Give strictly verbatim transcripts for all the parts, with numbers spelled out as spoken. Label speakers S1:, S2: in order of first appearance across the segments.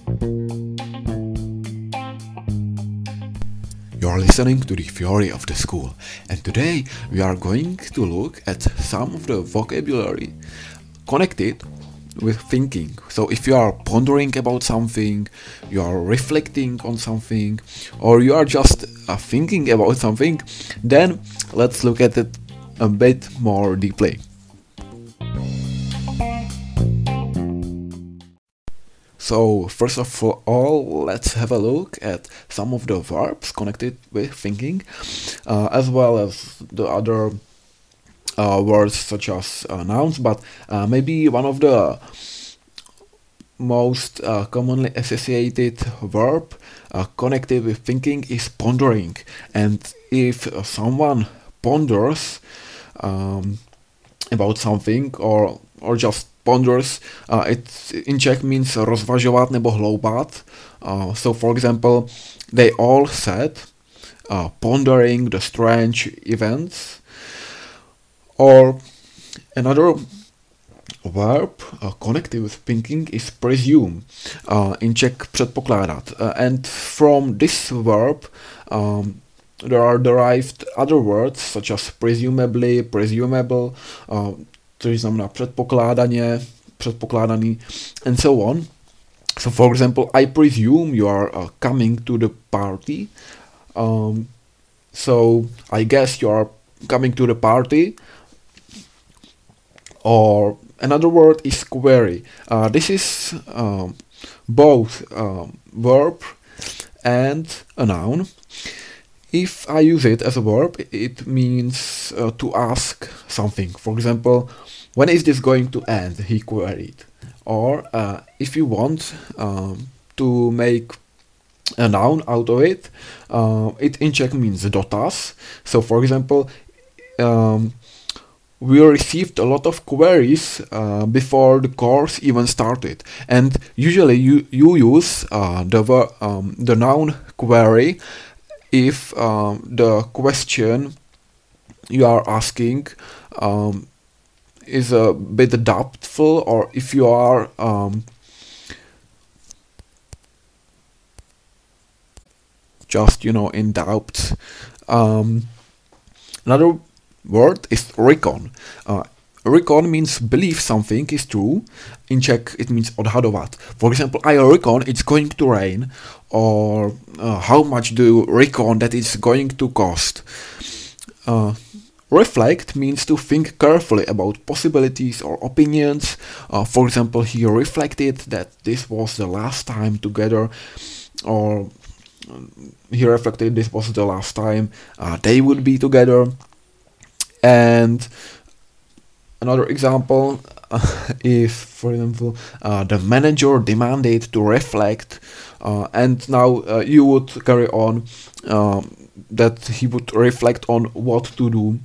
S1: You're listening to the Theory of the School, and today we are going to look at some of the vocabulary connected with thinking. So if you are pondering about something, you are reflecting on something, or you are just uh, thinking about something, then let's look at it a bit more deeply. So first of all, let's have a look at some of the verbs connected with thinking, uh, as well as the other uh, words such as uh, nouns, but uh, maybe one of the most uh, commonly associated verb uh, connected with thinking is pondering. And if uh, someone ponders um, about something or or just ponders, uh, it in Czech means rozvažovat nebo hloubat. Uh, so for example, they all said uh, pondering the strange events. Or another verb uh, connected with thinking is presume, uh, in Czech předpokládat. Uh, and from this verb um, there are derived other words such as presumably, presumable, uh, což znamená předpokládaně, předpokládaný, and so on. So for example, I presume you are uh, coming to the party. Um, so I guess you are coming to the party. Or another word is query. Uh, this is um, both um, verb and a noun. If I use it as a verb, it means uh, to ask something. For example, when is this going to end? He queried. Or uh, if you want um, to make a noun out of it, uh, it in Czech means dotaz. So for example, um, we received a lot of queries uh, before the course even started, and usually you you use uh, the um, the noun query if um, the question you are asking um, is a bit doubtful, or if you are um, just you know in doubt. Um, another word is recon. Uh, recon means believe something is true. In Czech it means odhadovat. For example, I reckon it's going to rain, or uh, how much do you reckon that it's going to cost. Uh, reflect means to think carefully about possibilities or opinions. Uh, for example, he reflected that this was the last time together, or he reflected this was the last time uh, they would be together. And another example uh, is, for example, uh, the manager demanded to reflect, uh, and now uh, you would carry on um, that he would reflect on what to do.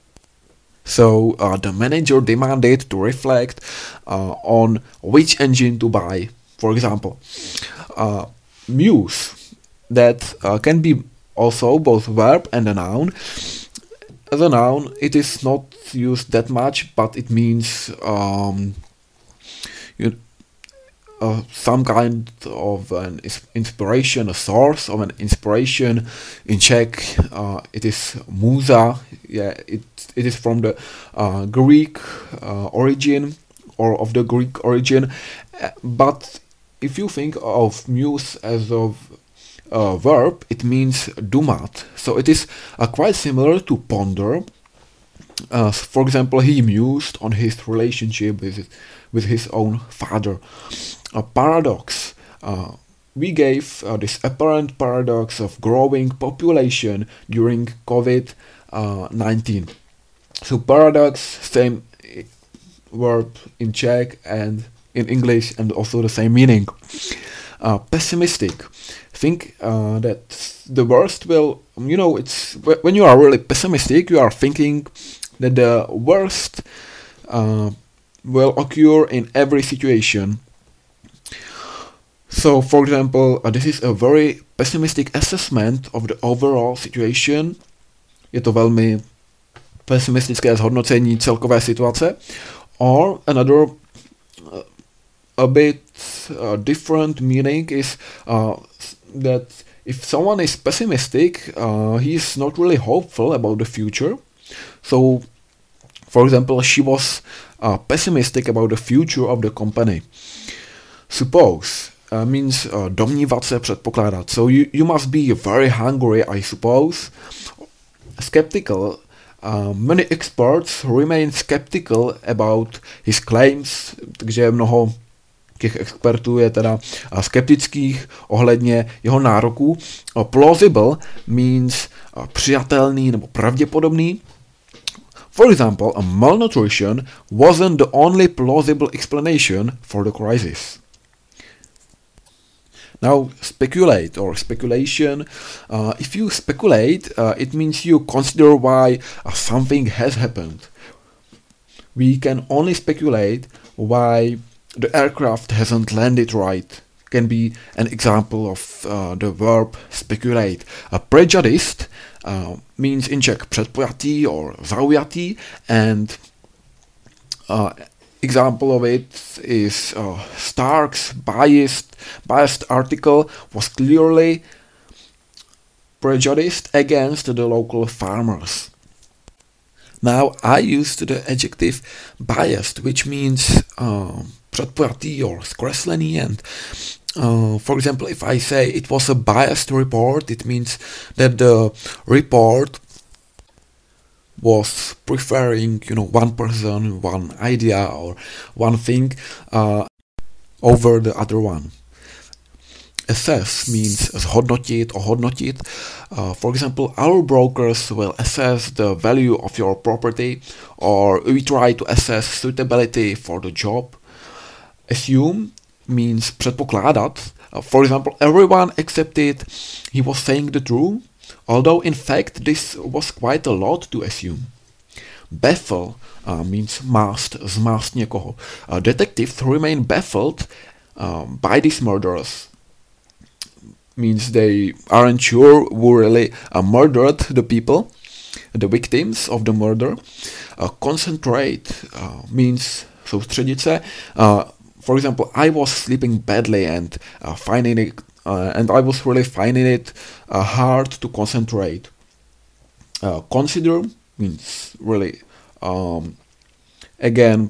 S1: So uh, the manager demanded to reflect uh, on which engine to buy, for example. Uh, muse, that uh, can be also both verb and a noun. As a noun, it is not used that much, but it means um, you, uh, some kind of an inspiration, a source of an inspiration. In Czech, uh, it is muza. Yeah, it it is from the uh, Greek uh, origin, or of the Greek origin. Uh, but if you think of muse as of Uh, verb, it means dumat. So it is uh, quite similar to ponder. Uh, for example, he mused on his relationship with his, with his own father. A paradox. Uh, we gave uh, this apparent paradox of growing population during COVID nineteen. So paradox, same verb in Czech and in English, and also the same meaning. Uh, pessimistic. Think uh, that the worst will, you know, it's when you are really pessimistic, you are thinking that the worst uh, will occur in every situation. So, for example, uh, this is a very pessimistic assessment of the overall situation. Je to velmi pesimistické zhodnocení celkové situace. Or another uh, a bit uh, different meaning is uh, that if someone is pessimistic, uh, he is not really hopeful about the future. So, for example, she was uh, pessimistic about the future of the company. Suppose uh, means uh, domnívat se, předpokládat. So you, you must be very hungry, I suppose. Skeptical. Uh, many experts remain skeptical about his claims, takže mnoho těch expertů je teda uh, skeptických ohledně jeho nároků. Uh, plausible means uh, přijatelný nebo pravděpodobný. For example, a malnutrition wasn't the only plausible explanation for the crisis. Now, speculate or speculation. Uh, if you speculate, uh, it means you consider why uh, something has happened. We can only speculate why the aircraft hasn't landed right. Can be an example of uh, the verb speculate. A prejudiced uh, means in Czech předpojatý or zaujatý, and uh, example of it is uh, Stark's biased biased article was clearly prejudiced against the local farmers. Now I used the adjective biased, which means uh, předpojatý or zkreslený, and uh, for example, if I say it was a biased report, it means that the report was preferring, you know, one person, one idea or one thing uh, over the other one. Assess means zhodnotit or hodnotit. Uh, for example, our brokers will assess the value of your property, or we try to assess suitability for the job. Assume means předpokládat. Uh, for example, everyone accepted he was saying the truth, although in fact this was quite a lot to assume. Baffle uh, means mást, zmást někoho. Uh, detectives remain baffled uh, by these murderers. Means they aren't sure who really uh, murdered the people, the victims of the murder. Uh, concentrate uh, means soustředit se. Uh, for example, I was sleeping badly and uh, finding it Uh, and I was really finding it uh, hard to concentrate. Uh, consider means really, um, again,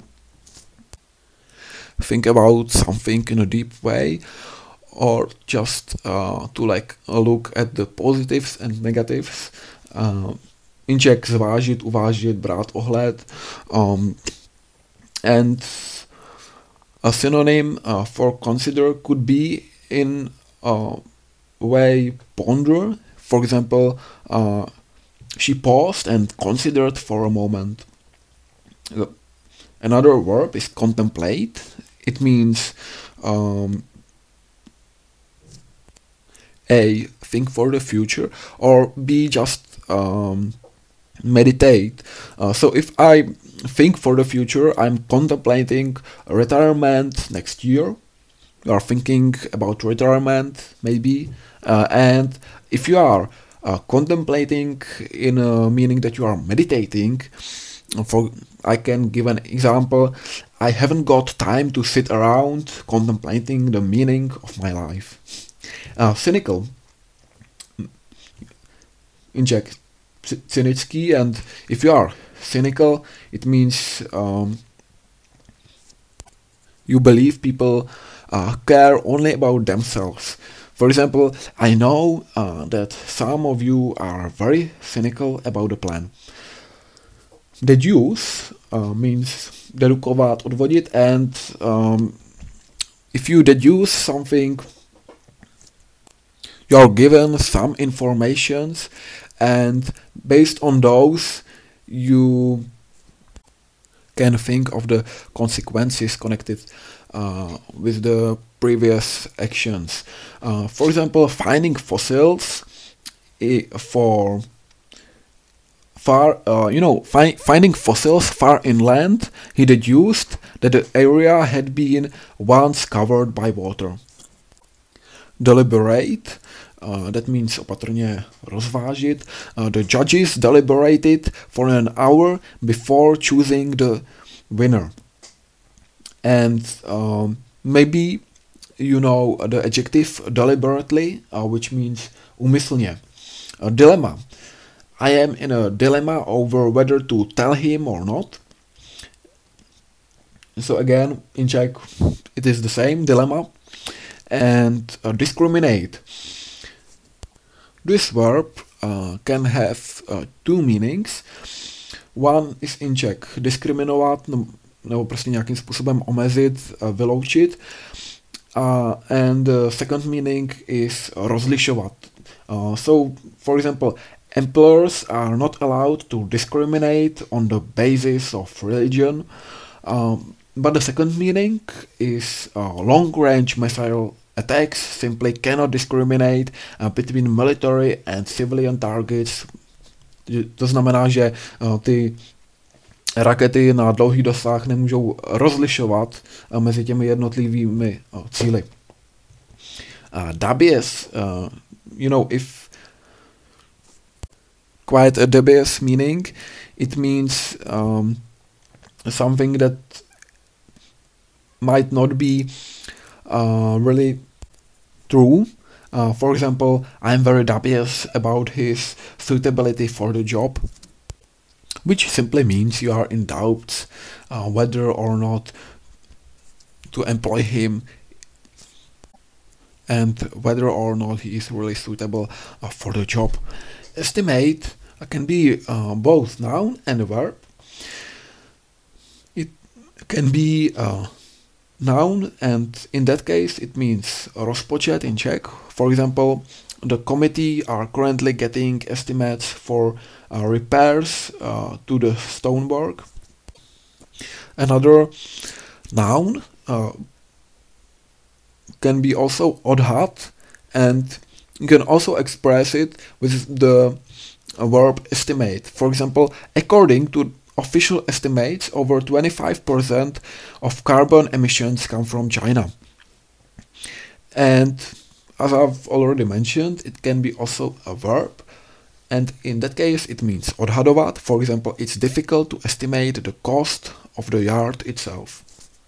S1: think about something in a deep way, or just uh, to like look at the positives and negatives. Uh, in Czech zvážit, uvážit, brát ohled. Um, and a synonym uh, for consider could be in Uh, way ponder. For example, uh, she paused and considered for a moment. Uh, another verb is contemplate. It means um, A, think for the future, or B, just um, meditate. Uh, so if I think for the future, I'm contemplating retirement next year. You are thinking about retirement, maybe, uh, and if you are uh, contemplating in a meaning that you are meditating, for I can give an example. I haven't got time to sit around contemplating the meaning of my life. Uh, cynical, in Czech, cynický, and if you are cynical, it means um, you believe people Uh, care only about themselves. For example, I know uh, that some of you are very cynical about the plan. Deduce uh, means dedukovat, odvodit, and um, if you deduce something, you are given some informations, and based on those, you can think of the consequences connected Uh, with the previous actions. Uh, for example, finding fossils I, for far, uh, you know, fi finding fossils far inland, he deduced that the area had been once covered by water. Deliberate, uh, that means opatrně rozvážit. Uh, the judges deliberated for an hour before choosing the winner. And um, maybe you know the adjective deliberately, uh, which means úmyslně. A dilemma. I am in a dilemma over whether to tell him or not. So again, in Czech, it is the same dilemma. And uh, discriminate. This verb uh, can have uh, two meanings. One is in Czech diskriminovat, no, nebo prostě nějakým způsobem omezit, uh, vyloučit. Uh, and the second meaning is rozlišovat. Uh, so, for example, employers are not allowed to discriminate on the basis of religion. Um, but the second meaning is uh, long-range missile attacks simply cannot discriminate uh, between military and civilian targets. To znamená, že uh, ty rakety na dlouhý dosah nemůžou rozlišovat uh, mezi těmi jednotlivými uh, cíli. Uh, dubious, uh, you know, if quite a dubious meaning, it means um, something that might not be uh, really true. Uh, for example, I'm very dubious about his suitability for the job, which simply means you are in doubt uh, whether or not to employ him and whether or not he is really suitable uh, for the job. Estimate uh, can be uh, both noun and a verb. It can be uh, noun, and in that case it means rozpočet in Czech. For example, the committee are currently getting estimates for uh, repairs uh, to the stonework. Another noun uh, can be also odhad, and you can also express it with the uh, verb estimate. For example, according to official estimates, over twenty-five percent of carbon emissions come from China. And as I've already mentioned, it can be also a verb. And in that case, it means odhadovat. For example, it's difficult to estimate the cost of the yard itself.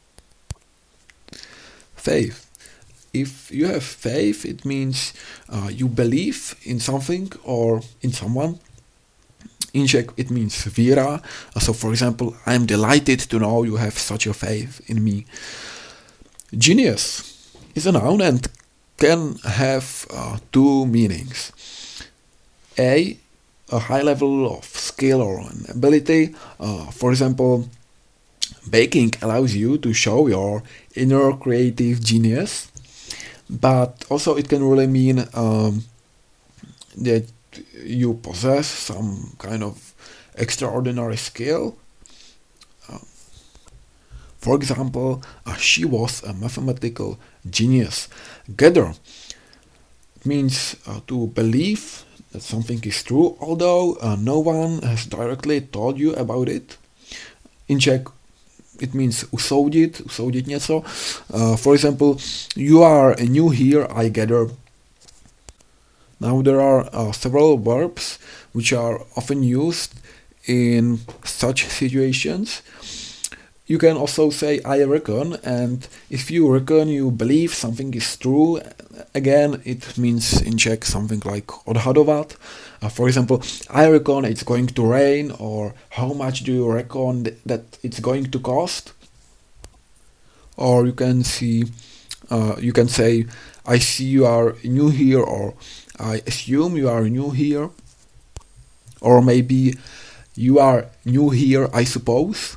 S1: Faith. If you have faith, it means uh, you believe in something or in someone. In Czech, it means víra. So, for example, I'm delighted to know you have such a faith in me. Genius is a noun and can have uh, two meanings. A, a high level of skill or an ability. Uh, for example, baking allows you to show your inner creative genius. But also it can really mean um, that you possess some kind of extraordinary skill. Uh, for example, uh, she was a mathematical genius. Gather means uh, to believe that something is true, although uh, no one has directly told you about it. In Czech, it means usoudit, usoudit něco. Uh, for example, you are new here, I gather. Now there are uh, several verbs which are often used in such situations. You can also say I reckon, and if you reckon you believe something is true, again it means in Czech something like odhadovat. Uh, for example, I reckon it's going to rain, or how much do you reckon th- that it's going to cost? Or you can see, uh, you can say, I see you are new here, or I assume you are new here, or maybe you are new here, I suppose.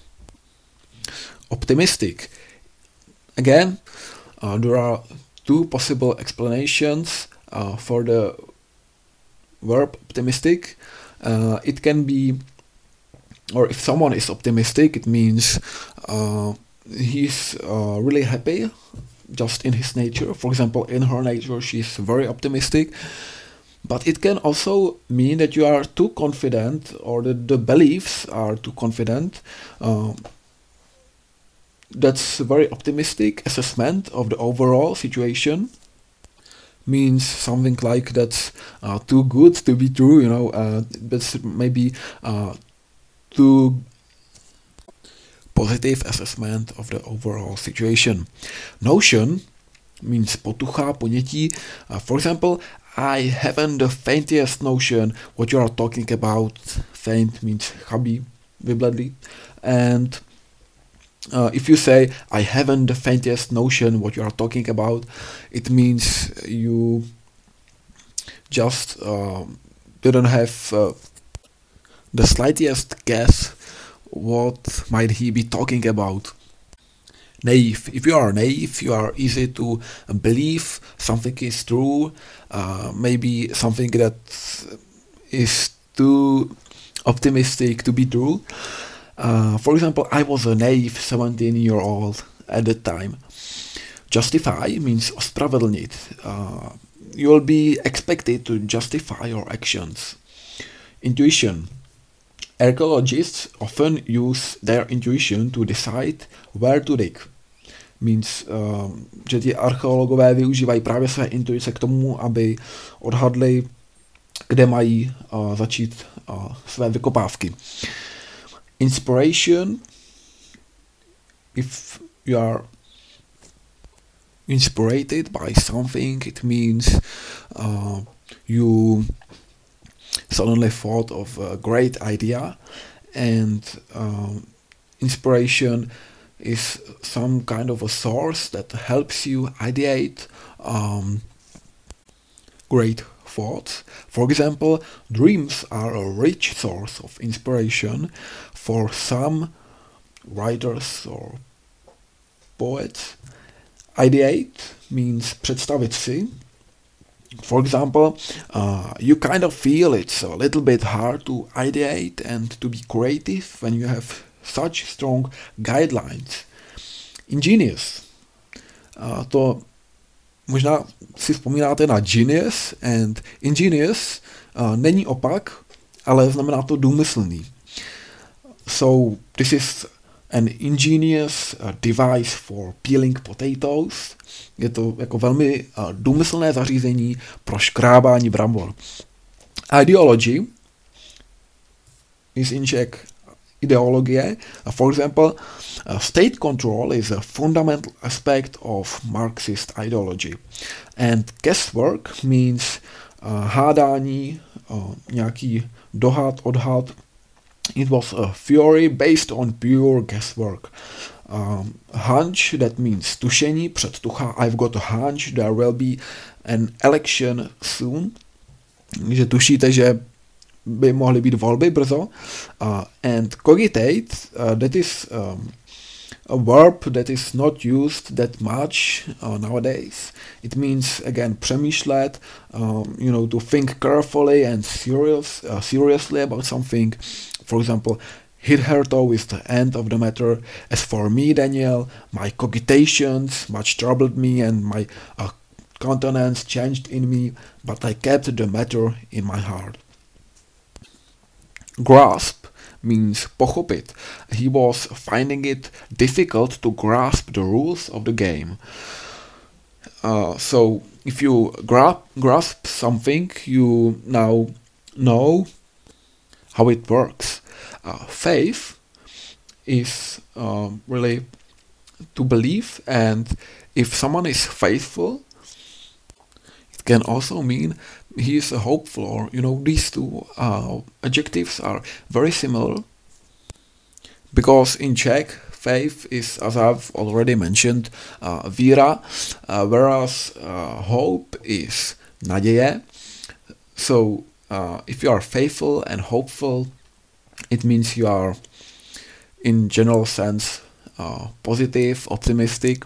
S1: Optimistic. Again, uh, there are two possible explanations uh, for the verb optimistic. Uh, it can be, or if someone is optimistic, it means uh, he's uh, really happy just in his nature. For example, in her nature, she's very optimistic. But it can also mean that you are too confident, or that the beliefs are too confident. Uh, that's a very optimistic assessment of the overall situation. Means something like that's uh, too good to be true, you know, uh, that's maybe uh, too positive assessment of the overall situation. Notion means potucha, ponětí. Uh, for example, I haven't the faintest notion what you are talking about. Faint means chabý, vybledlý. And uh, if you say, I haven't the faintest notion what you are talking about, it means you just uh, didn't have uh, the slightest guess what might he be talking about. Naive. If you are naive, you are easy to believe something is true, uh, maybe something that is too optimistic to be true. Uh, for example, I was a naive seventeen year old at that time. Justify means ospravedlnit. Uh, you will be expected to justify your actions. Intuition. Archaeologists often use their intuition to decide where to dig. Means, uh, že ti archeologové využívají právě své intuice k tomu, aby odhadli, kde mají uh, začít uh, své vykopávky. Inspiration. If you are inspired by something, it means uh, you suddenly thought of a great idea, and um, inspiration is some kind of a source that helps you ideate um, great thoughts. For example, dreams are a rich source of inspiration for some writers or poets. Ideate means představit si. For example, uh, you kind of feel it's a little bit hard to ideate and to be creative when you have such strong guidelines. Ingenious. Uh, to možná si vzpomínáte na genius, and ingenious uh, není opak, ale znamená to důmyslný. So this is an ingenious uh, device for peeling potatoes. Je to jako velmi uh, důmyslné zařízení pro škrábání brambor. Ideology is in Czech ideologie. Uh, for example, uh, state control is a fundamental aspect of Marxist ideology. And guesswork means uh, hádání, uh, nějaký dohad, odhad. It was a theory based on pure guesswork. Um, hunch, that means tušení, předtucha. I've got a hunch there will be an election soon. Že tušíte, že by mohly být volby brzo. Uh, and cogitate, uh, that is um, a verb that is not used that much uh, nowadays. It means, again, přemýšlet, um, you know, to think carefully and serious, uh, seriously about something. For example, hitherto is the end of the matter. As for me, Daniel, my cogitations much troubled me and my uh, countenance changed in me, but I kept the matter in my heart. Grasp means pochopit. He was finding it difficult to grasp the rules of the game. Uh, so if you gra- grasp something, you now know how it works. Uh, faith is uh, really to believe, and if someone is faithful, it can also mean he is a hopeful, or, you know, these two uh, adjectives are very similar, because in Czech, faith is, as I've already mentioned, uh, víra, uh, whereas uh, hope is naděje. So uh, if you are faithful and hopeful, it means you are, in general sense, uh, positive, optimistic.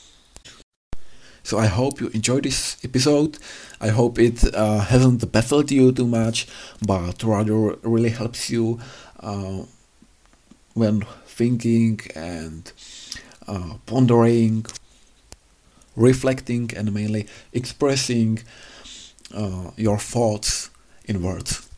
S1: So I hope you enjoyed this episode. I hope it uh, hasn't baffled you too much, but rather really helps you uh, when thinking and uh, pondering, reflecting, and mainly expressing uh, your thoughts in words.